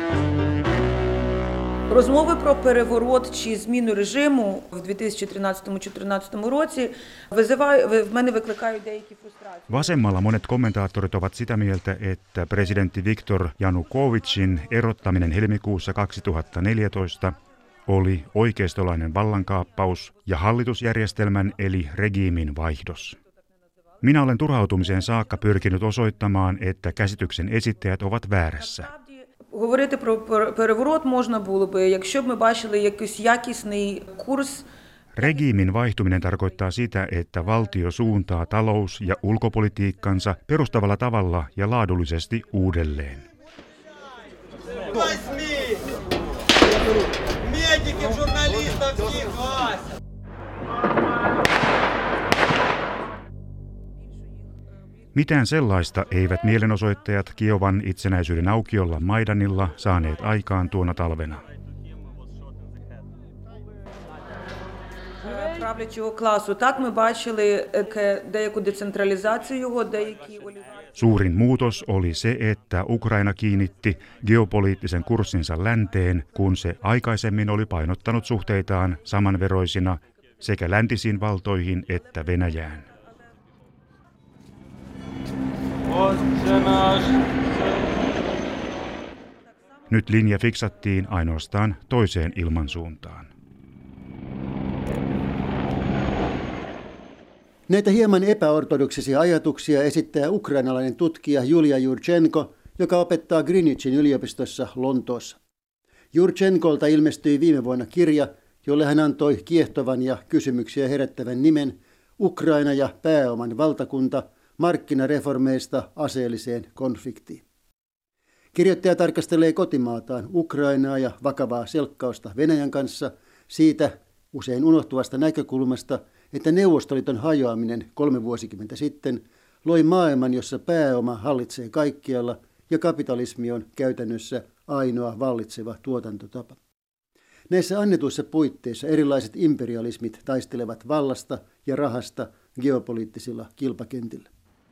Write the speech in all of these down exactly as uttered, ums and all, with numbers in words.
Розмови про переворот чи зміну режиму в дві тисячі тринадцятому-чотирнадцятому році визиває, в мене викликають деякі фрустрації. Vasemmalla monet kommentaattorit ovat sitä mieltä, että presidentti Viktor Janukovytsin erottaminen helmikuussa kaksituhattaneljätoista oli oikeistolainen vallankaappaus ja hallitusjärjestelmän eli regiimin vaihdos. Minä olen turhautumiseen saakka pyrkinyt osoittamaan, että käsityksen esittäjät ovat väärässä. Говорити про переворот можна було би, якщо б ми бачили якийсь якісний курс. Regiimin vaihtuminen tarkoittaa sitä, että valtio suuntaa talous- ja ulkopolitiikkansa perustavalla tavalla ja laadullisesti uudelleen. Mitään sellaista eivät mielenosoittajat Kiovan itsenäisyyden aukiolla Maidanilla saaneet aikaan tuona talvena. Suurin muutos oli se, että Ukraina kiinnitti geopoliittisen kurssinsa länteen, kun se aikaisemmin oli painottanut suhteitaan samanveroisina sekä läntisiin valtoihin että Venäjään. Nyt linja fiksattiin ainoastaan toiseen ilmansuuntaan. Näitä hieman epäortodoksisia ajatuksia esittää ukrainalainen tutkija Julia Jurchenko, joka opettaa Greenwichin yliopistossa Lontoossa. Jurchenkolta ilmestyi viime vuonna kirja, jolle hän antoi kiehtovan ja kysymyksiä herättävän nimen Ukraina ja pääoman valtakunta markkinareformeista aseelliseen konfliktiin. Kirjoittaja tarkastelee kotimaataan Ukrainaa ja vakavaa selkkausta Venäjän kanssa siitä usein unohtuvasta näkökulmasta, että Neuvostoliiton hajoaminen kolme vuosikymmentä sitten loi maailman, jossa pääoma hallitsee kaikkialla ja kapitalismi on käytännössä ainoa vallitseva tuotantotapa. Näissä annetuissa puitteissa erilaiset imperialismit taistelevat vallasta ja rahasta geopoliittisilla kilpakentillä.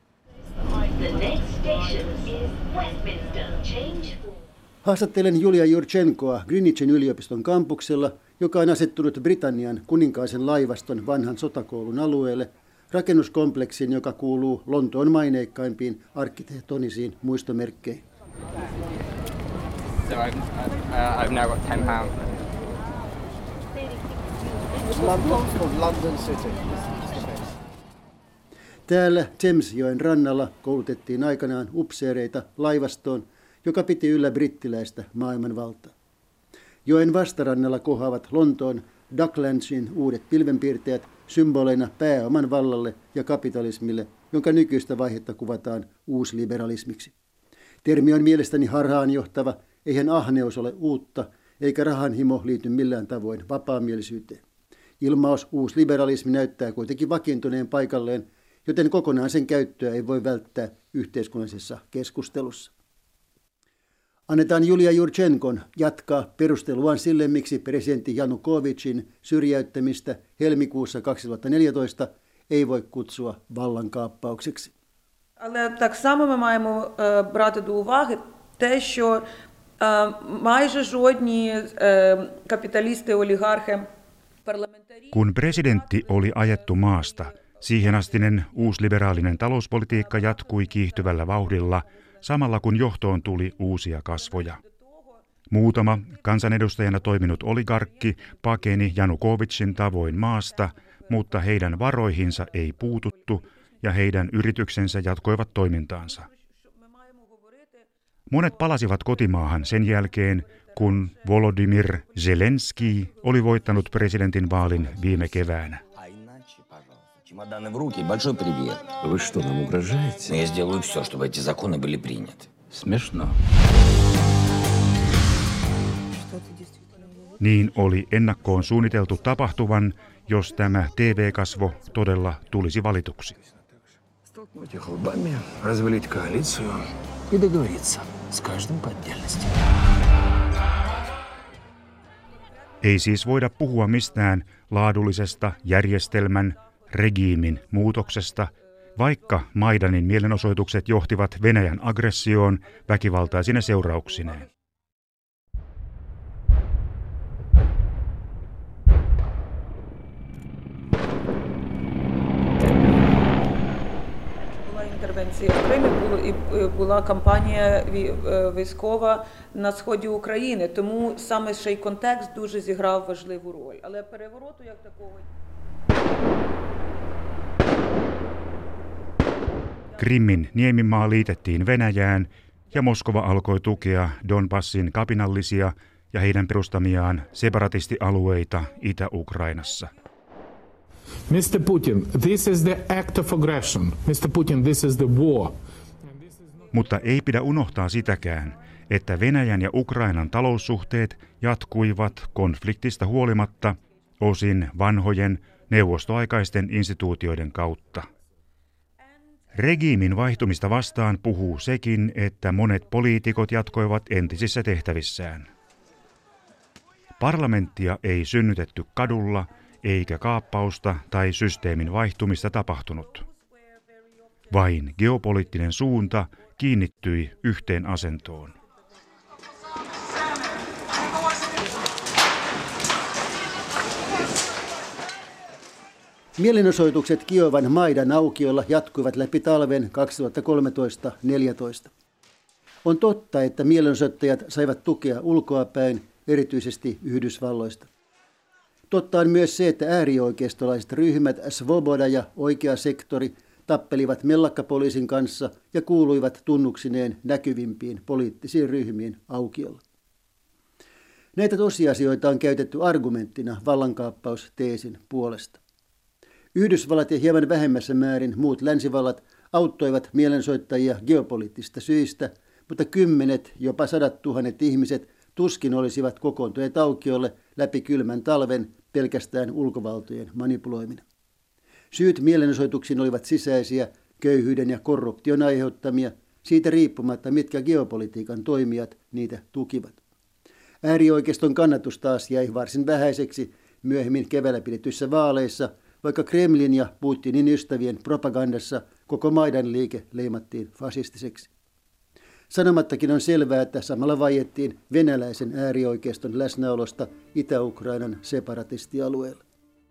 Haastattelen Julia Jurchenkoa Greenwichin yliopiston kampuksella, joka on asettunut Britannian kuninkaisen laivaston vanhan sotakoulun alueelle, rakennuskompleksin, joka kuuluu Lontoon maineikkaimpiin arkkitehtonisiin muistomerkkeihin. So I've, uh, I've now got ten pounds. London or London City? Täällä Thamesjoen rannalla koulutettiin aikanaan upseereita laivastoon, joka piti yllä brittiläistä maailmanvaltaa. Joen vastarannalla kohoavat Lontoon Docklandsin uudet pilvenpiirteet symboleina pääoman vallalle ja kapitalismille, jonka nykyistä vaihetta kuvataan uusliberalismiksi. Termi on mielestäni harhaanjohtava, eihän ahneus ole uutta, eikä rahanhimo liity millään tavoin vapaamielisyyteen. Ilmaus uusliberalismi näyttää kuitenkin vakiintuneen paikalleen, joten kokonaan sen käyttöä ei voi välttää yhteiskunnallisessa keskustelussa. Annetaan Julia Jurchenkon jatkaa perusteluaan sille, miksi presidentti Janukovytsin syrjäyttämistä helmikuussa kaksituhattaneljätoista ei voi kutsua vallankaappaukseksi. Але так само ми маємо брати до уваги те, що майже жодні капіталісти, олігархи, парламентарі... Kun presidentti oli ajettu maasta, siihenastinen uusliberaalinen talouspolitiikka jatkui kiihtyvällä vauhdilla, samalla kun johtoon tuli uusia kasvoja. Muutama kansanedustajana toiminut oligarkki pakeni Janukovytsin tavoin maasta, mutta heidän varoihinsa ei puututtu ja heidän yrityksensä jatkoivat toimintaansa. Monet palasivat kotimaahan sen jälkeen, kun Volodymyr Zelenski oli voittanut presidentin vaalin viime keväänä. Чемоданы в руки, большой привет. Вы что, нам угрожаете? Я сделаю все, чтобы эти законы были приняты. Смешно. Niin oli ennakkoon suunniteltu tapahtuvan, jos tämä T V-kasvo todella tulisi valituksi. Столкнуть их лбами, развалить коалицию и договориться с каждым по отдельности. Ei siis voida puhua mistään laadullisesta järjestelmän, regiimin muutoksesta, vaikka Maidanin mielenosoitukset johtivat Venäjän aggressioon väkivaltaisine seurauksineen. інтервенція в Кримі було і була кампанія військова на сході України, тому саме ще й контекст дуже зіграв важливу роль. Але перевороту як такого. Krimin niemimaa liitettiin Venäjään ja Moskova alkoi tukea Donbassin kapinallisia ja heidän perustamiaan separatistialueita Itä-Ukrainassa. mister Putin, this is the act of aggression. mister Putin, this is the war. Mutta ei pidä unohtaa sitäkään, että Venäjän ja Ukrainan taloussuhteet jatkuivat konfliktista huolimatta osin vanhojen neuvostoaikaisten instituutioiden kautta. Regiimin vaihtumista vastaan puhuu sekin, että monet poliitikot jatkoivat entisissä tehtävissään. Parlamenttia ei synnytetty kadulla, eikä kaappausta tai systeemin vaihtumista tapahtunut. Vain geopoliittinen suunta kiinnittyi yhteen asentoon. Mielenosoitukset Kiovan Maidan aukiolla jatkuivat läpi talven kaksituhattakolmetoista neljätoista. On totta, että mielenosoittajat saivat tukea ulkoapäin, erityisesti Yhdysvalloista. Totta on myös se, että äärioikeistolaiset ryhmät Svoboda ja Oikea sektori tappelivat mellakkapoliisin kanssa ja kuuluivat tunnuksineen näkyvimpiin poliittisiin ryhmiin aukiolla. Näitä tosiasioita on käytetty argumenttina vallankaappausteesin puolesta. Yhdysvallat ja hieman vähemmässä määrin muut länsivallat auttoivat mielensoittajia geopoliittisista syistä, mutta kymmenet, jopa sadat tuhannet ihmiset tuskin olisivat kokoontuneet aukiolle läpi kylmän talven pelkästään ulkovaltojen manipuloimina. Syyt mielenosoituksiin olivat sisäisiä, köyhyyden ja korruption aiheuttamia, siitä riippumatta mitkä geopolitiikan toimijat niitä tukivat. Äärioikeiston kannatus taas jäi varsin vähäiseksi myöhemmin keväällä pidetyissä vaaleissa, vaikka Kremlin ja Putinin ystävien propagandassa koko Maidan liike leimattiin fasistiseksi. Sanomattakin on selvää, että samalla vaiettiin venäläisen äärioikeiston läsnäolosta Itä-Ukrainan separatistialueella.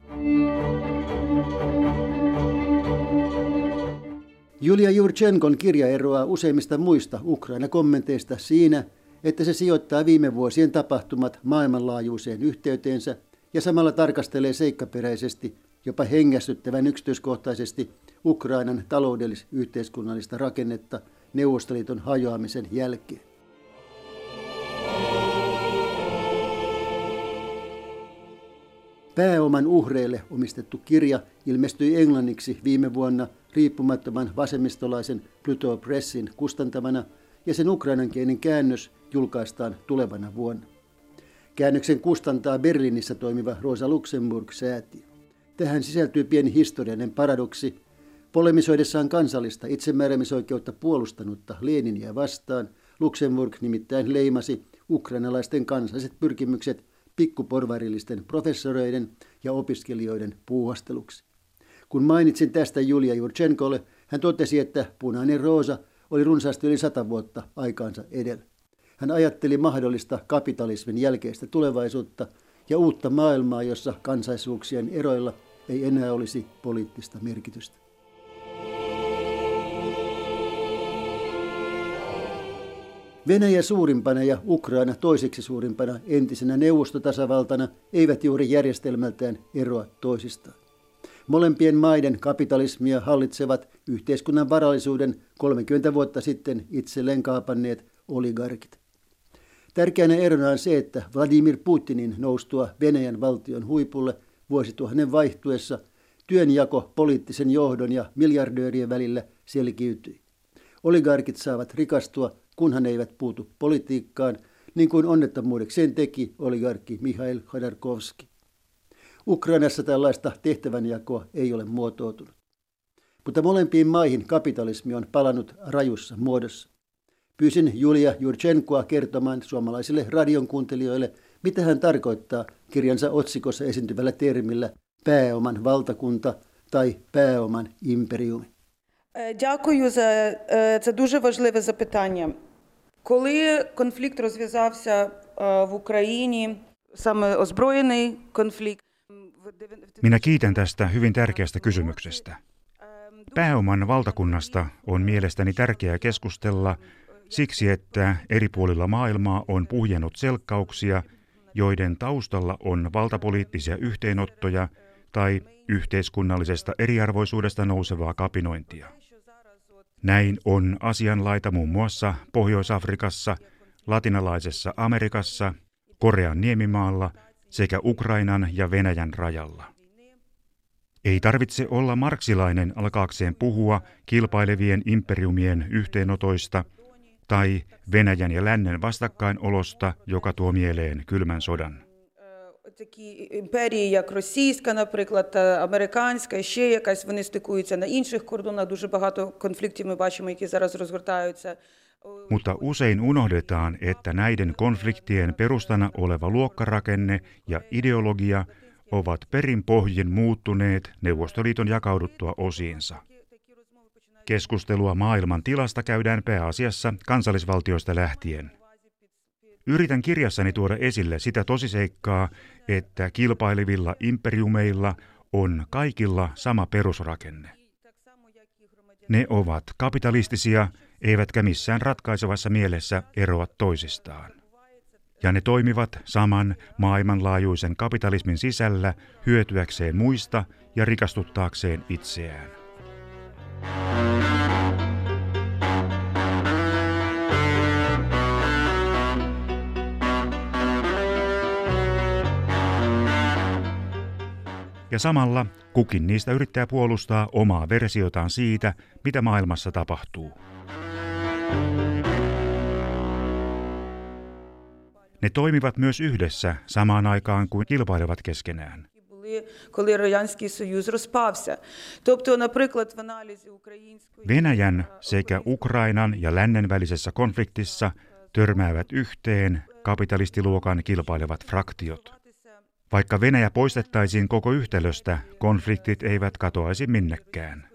Julia Jurchenkon kirja eroaa useimmista muista Ukraina-kommenteista siinä, että se sijoittaa viime vuosien tapahtumat maailmanlaajuiseen yhteyteensä ja samalla tarkastelee seikkaperäisesti, jopa hengästyttävän yksityiskohtaisesti Ukrainan taloudellis-yhteiskunnallista rakennetta Neuvostoliiton hajoamisen jälkeen. Pääoman uhreille omistettu kirja ilmestyi englanniksi viime vuonna riippumattoman vasemmistolaisen Pluto Pressin kustantamana ja sen ukrainankielinen käännös julkaistaan tulevana vuonna. Käännöksen kustantaa Berliinissä toimiva Rosa Luxemburg-säätiö. Tähän sisältyy pieni historiallinen paradoksi. Polemisoidessaan kansallista itsemääräämisoikeutta puolustanutta Leninia vastaan Luxemburg nimittäin leimasi ukrainalaisten kansalliset pyrkimykset pikkuporvarillisten professoreiden ja opiskelijoiden puuhasteluksi. Kun mainitsin tästä Julia Jurchenkolle, hän totesi, että punainen roosa oli runsaasti yli sata vuotta aikaansa edellä. Hän ajatteli mahdollista kapitalismin jälkeistä tulevaisuutta ja uutta maailmaa, jossa kansaisuuksien eroilla ei enää olisi poliittista merkitystä. Venäjä suurimpana ja Ukraina toiseksi suurimpana entisenä neuvostotasavaltana eivät juuri järjestelmältään eroa toisistaan. Molempien maiden kapitalismia hallitsevat yhteiskunnan varallisuuden kolmekymmentä vuotta sitten itselleen kaapanneet oligarkit. Tärkeänä erona on se, että Vladimir Putinin noustua Venäjän valtion huipulle vuosituhannen vaihtuessa työnjako poliittisen johdon ja miljardöörien välillä selkiytyi. Oligarkit saavat rikastua, kunhan ne eivät puutu politiikkaan, niin kuin onnettomuudekseen teki oligarkki Mikhail Khodorkovski. Ukrainassa tällaista tehtävänjakoa ei ole muotoutunut. Mutta molempiin maihin kapitalismi on palannut rajussa muodossa. Pyysin Julia Jurchenkoa kertomaan suomalaisille radion kuuntelijoille, mitä hän tarkoittaa kirjansa otsikossa esiintyvällä termillä pääoman valtakunta tai pääoman imperiumi. Дякую за це дуже важливе запитання. Коли конфлікт розв'язався в Україні, саме озброєний конфлікт. Minä kiitän tästä hyvin tärkeästä kysymyksestä. Pääoman valtakunnasta on mielestäni tärkeää keskustella siksi, että eri puolilla maailmaa on puhjennut selkkauksia, joiden taustalla on valtapoliittisia yhteenottoja tai yhteiskunnallisesta eriarvoisuudesta nousevaa kapinointia. Näin on asianlaita muun muassa Pohjois-Afrikassa, Latinalaisessa Amerikassa, Korean niemimaalla sekä Ukrainan ja Venäjän rajalla. Ei tarvitse olla marksilainen alkaakseen puhua kilpailevien imperiumien yhteenotoista tai Venäjän ja lännen vastakkainolosta, joka tuo mieleen kylmän sodan. Такі імперії, як російська, наприклад, та американська, і ще якась, вони стикуються на інших кордонах. Дуже багато конфліктів ми бачимо, які зараз розгортаються. Mutta usein unohdetaan, että näiden konfliktien perustana oleva luokkarakenne ja ideologia ovat perin pohjin muuttuneet Neuvostoliiton jakauduttua osiinsa. Keskustelua maailman tilasta käydään pääasiassa kansallisvaltioista lähtien. Yritän kirjassani tuoda esille sitä tosiseikkaa, että kilpailevilla imperiumeilla on kaikilla sama perusrakenne. Ne ovat kapitalistisia, eivätkä missään ratkaisevassa mielessä eroa toisistaan. Ja ne toimivat saman maailmanlaajuisen kapitalismin sisällä hyötyäkseen muista ja rikastuttaakseen itseään. Ja samalla kukin niistä yrittää puolustaa omaa versiotaan siitä, mitä maailmassa tapahtuu. Ne toimivat myös yhdessä samaan aikaan kuin kilpailevat keskenään. Venäjän sekä Ukrainan ja lännen välisessä konfliktissa törmäävät yhteen kapitalistiluokan kilpailevat fraktiot. Vaikka Venäjä poistettaisiin koko yhtälöstä, konfliktit eivät katoaisi minnekään.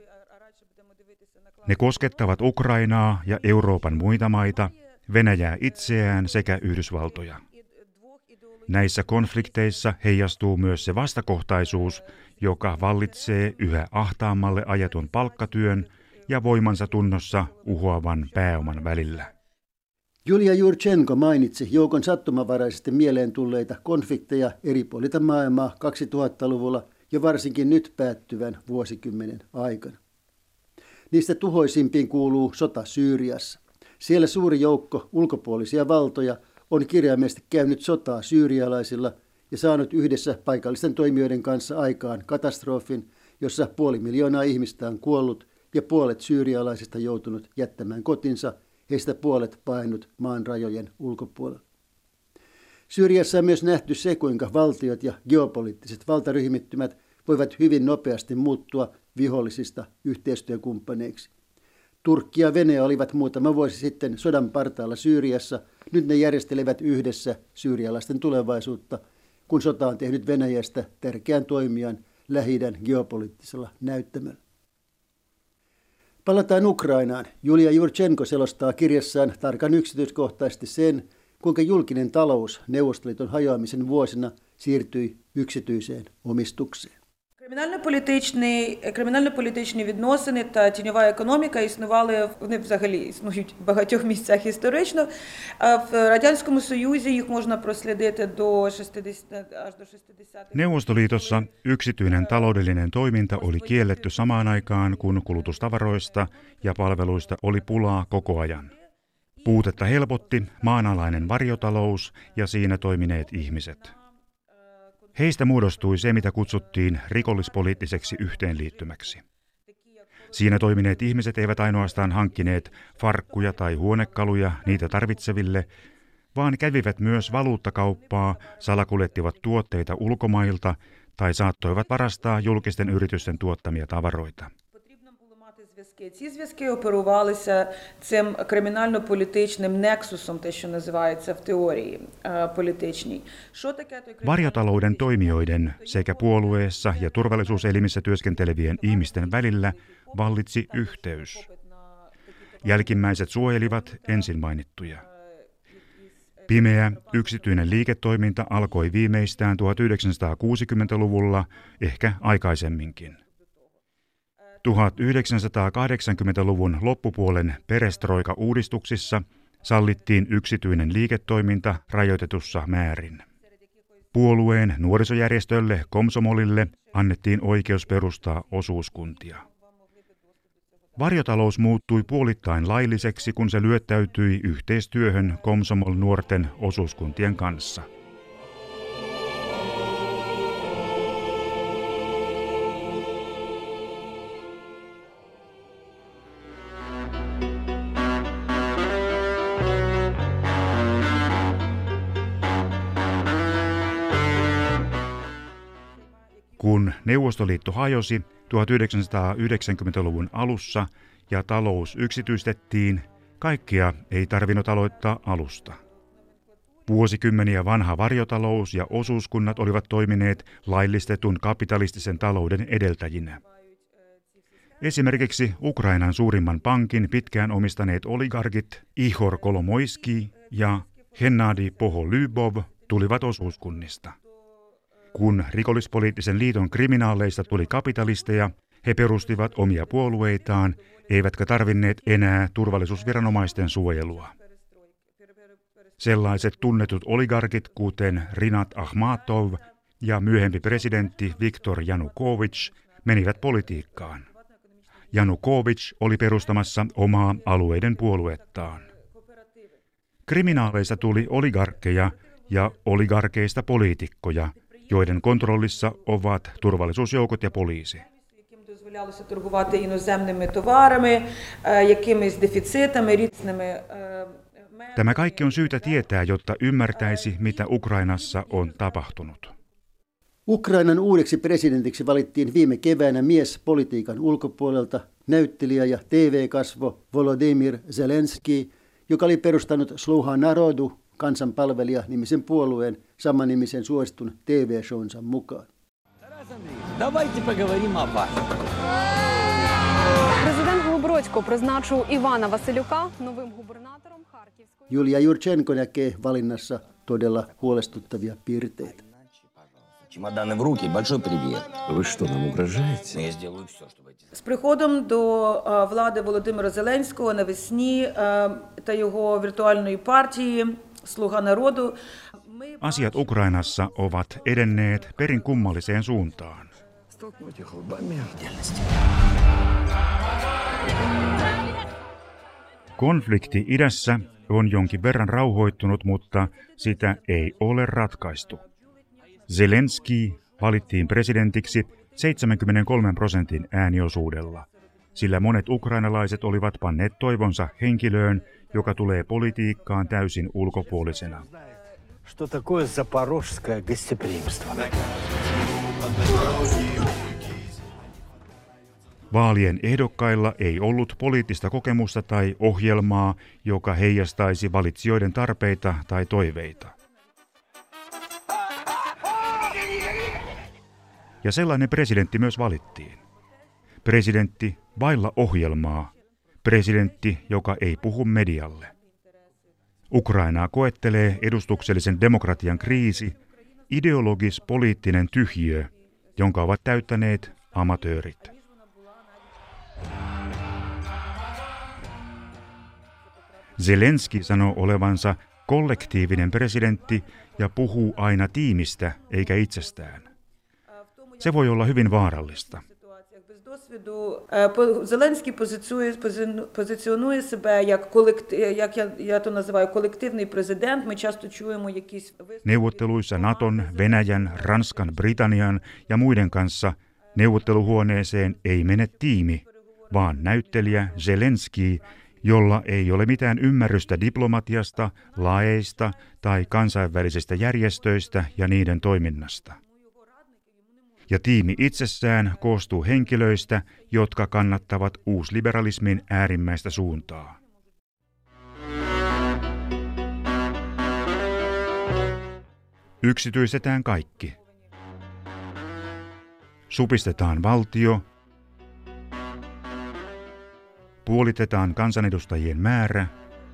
Ne koskettavat Ukrainaa ja Euroopan muita maita, Venäjää itseään sekä Yhdysvaltoja. Näissä konflikteissa heijastuu myös se vastakohtaisuus, joka vallitsee yhä ahtaammalle ajetun palkkatyön ja voimansa tunnossa uhoavan pääoman välillä. Julia Jurchenko mainitsi joukon sattumanvaraisesti mieleen tulleita konflikteja eri puolilta maailmaa kaksituhattaluvulla ja varsinkin nyt päättyvän vuosikymmenen aikana. Niistä tuhoisimpiin kuuluu sota Syyriassa. Siellä suuri joukko ulkopuolisia valtoja on kirjaimellisesti käynyt sotaa syyrialaisilla ja saanut yhdessä paikallisten toimijoiden kanssa aikaan katastrofin, jossa puoli miljoonaa ihmistä on kuollut ja puolet syyrialaisista joutunut jättämään kotinsa, heistä puolet painut maan rajojen ulkopuolella. Syyriassa on myös nähty se, kuinka valtiot ja geopoliittiset valtaryhmittymät voivat hyvin nopeasti muuttua vihollisista yhteistyökumppaneiksi. Turkki ja Venäjä olivat muutama vuosi sitten sodan partaalla Syyriassa. Nyt ne järjestelevät yhdessä syyrialaisten tulevaisuutta, kun sota on tehnyt Venäjästä tärkeän toimijan Lähi-idän geopoliittisella näyttämöllä. Palataan Ukrainaan. Julia Jurchenko selostaa kirjassaan tarkan yksityiskohtaisesti sen, kuinka julkinen talous Neuvostoliiton hajoamisen vuosina siirtyi yksityiseen omistukseen. Кримінально-політичні, кримінально-політичні відносини та тіньова економіка існували, вони взагалі існують в багатьох місцях історично. А в Радянському Союзі їх можна прослідити до шістдесят, аж до шістдесятих. Neuvostoliitossa yksityinen taloudellinen toiminta oli kielletty samaan aikaan, kun kulutustavaroista ja palveluista oli pulaa koko ajan. Puutetta helpotti maanalainen varjotalous ja siinä toimineet ihmiset. Heistä muodostui se, mitä kutsuttiin rikollispoliittiseksi yhteenliittymäksi. Siinä toimineet ihmiset eivät ainoastaan hankkineet farkkuja tai huonekaluja niitä tarvitseville, vaan kävivät myös valuuttakauppaa, salakuljettivat tuotteita ulkomailta tai saattoivat varastaa julkisten yritysten tuottamia tavaroita. Ці зв'язки оперувалися цим кримінально-політичним нексусом, те, що називається в теорії політичній. Що таке той Varjotalouden toimijoiden sekä puolueessa ja turvallisuuselimissä työskentelevien ihmisten välillä vallitsi yhteys. Jälkimmäiset suojelivat ensin mainittuja. Pimeä yksityinen liiketoiminta alkoi viimeistään tuhatyhdeksänsataakuusikymmentäluvulla, ehkä aikaisemminkin. tuhatyhdeksänsataakahdeksankymmentäluvun loppupuolen perestroika-uudistuksissa sallittiin yksityinen liiketoiminta rajoitetussa määrin. Puolueen nuorisojärjestölle Komsomolille annettiin oikeus perustaa osuuskuntia. Varjotalous muuttui puolittain lailliseksi, kun se lyöttäytyi yhteistyöhön Komsomol-nuorten osuuskuntien kanssa. Kun Neuvostoliitto hajosi tuhatyhdeksänsataayhdeksänkymmentäluvun alussa ja talous yksityistettiin, kaikkea ei tarvinnut aloittaa alusta. Vuosikymmeniä vanha varjotalous ja osuuskunnat olivat toimineet laillistetun kapitalistisen talouden edeltäjinä. Esimerkiksi Ukrainan suurimman pankin pitkään omistaneet oligarkit Ihor Kolomoiski ja Hennadi Poholybov tulivat osuuskunnista. Kun rikollispoliittisen liiton kriminaaleista tuli kapitalisteja, he perustivat omia puolueitaan, eivätkä tarvinneet enää turvallisuusviranomaisten suojelua. Sellaiset tunnetut oligarkit, kuten Rinat Akhmatov ja myöhempi presidentti Viktor Janukovyč, menivät politiikkaan. Janukovyč oli perustamassa omaa alueiden puoluettaan. Kriminaaleista tuli oligarkkeja ja oligarkeista poliitikkoja, joiden kontrollissa ovat turvallisuusjoukot ja poliisi. Дозволялося торгувати іноземними товарами, якимись дефіцитами, різними. Tämä kaikki on syytä tietää, jotta ymmärtäisi, mitä Ukrainassa on tapahtunut. Ukrainan uudeksi presidentiksi valittiin viime keväänä mies politiikan ulkopuolelta, näyttelijä ja T V-kasvo Volodymyr Zelenski, joka oli perustanut Sluha Narodu, kansanpalvelija-nimisen puolueen samanimisen suositun T V-shownsa mukaan. Президент Глобродько призначив Івана Василюка новим губернатором Харківської. Julia Jurchenko näkee valinnassa todella huolestuttavia piirteitä. Чемоданы в руки, большой привет. Вы что, нам угрожаете? Я сделаю все, чтобы эти... З приходом до е, влади Володимира Зеленського навесні е, та його віртуальної партії «Слуга народу» ми Asiat Ukrainassa ovat edenneet perin kummalliseen suuntaan. Столкнуть их лбами в реальности. Konflikti idässä on jonkin verran rauhoittunut, mutta sitä ei ole ratkaistu. Zelenski valittiin presidentiksi seitsemänkymmentäkolme prosentin ääniosuudella, sillä monet ukrainalaiset olivat panneet toivonsa henkilöön, joka tulee politiikkaan täysin ulkopuolisena. Что такое запорожское гостеприимство? Vaalien ehdokkailla ei ollut poliittista kokemusta tai ohjelmaa, joka heijastaisi valitsijoiden tarpeita tai toiveita. Ja sellainen presidentti myös valittiin. Presidentti vailla ohjelmaa. Presidentti, joka ei puhu medialle. Ukrainaa koettelee edustuksellisen demokratian kriisi, ideologis-poliittinen tyhjiö, jonka ovat täyttäneet amatöörit. Zelenski sanoo olevansa kollektiivinen presidentti ja puhuu aina tiimistä eikä itsestään. Se voi olla hyvin vaarallista. Зеленський позиціонує, позиціонує себе як колектив, як я, я то називаю, колективний президент. Ми часто чуємо якісь Neuvotteluissa Naton, Venäjän, Ranskan, Britannian ja muiden kanssa neuvotteluhuoneeseen ei mene tiimi, vaan näyttelijä Zelenski, jolla ei ole mitään ymmärrystä diplomatiasta, laeista tai kansainvälisistä järjestöistä ja niiden toiminnasta. Ja tiimi itsessään koostuu henkilöistä, jotka kannattavat uusliberalismin äärimmäistä suuntaa. Yksityistetään kaikki. Supistetaan valtio. Puolitetaan kansanedustajien määrä.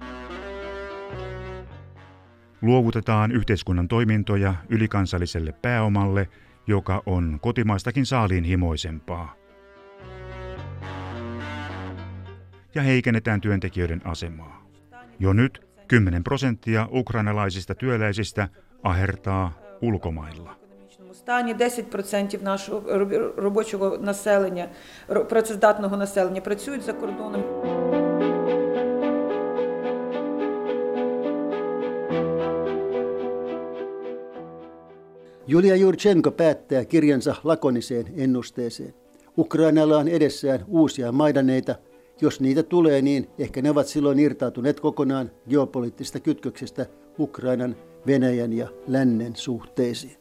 Luovutetaan yhteiskunnan toimintoja ylikansalliselle pääomalle, joka on kotimaistakin saaliinhimoisempaa. ja heikennetään työntekijöiden asemaa. Jo nyt kymmenen prosenttia ukrainalaisista työläisistä ahertaa ulkomailla. Стані десять відсотків нашого робочого населення, працездатного населення працюють за кордоном. Julia Jurchenko päättää kirjansa lakoniseen ennusteeseen. Ukrainalla on edessään uusia maidaneita. Jos niitä tulee, niin ehkä ne ovat silloin irtautuneet kokonaan geopoliittisista kytköksistä Ukrainan, Venäjän ja lännen suhteisiin.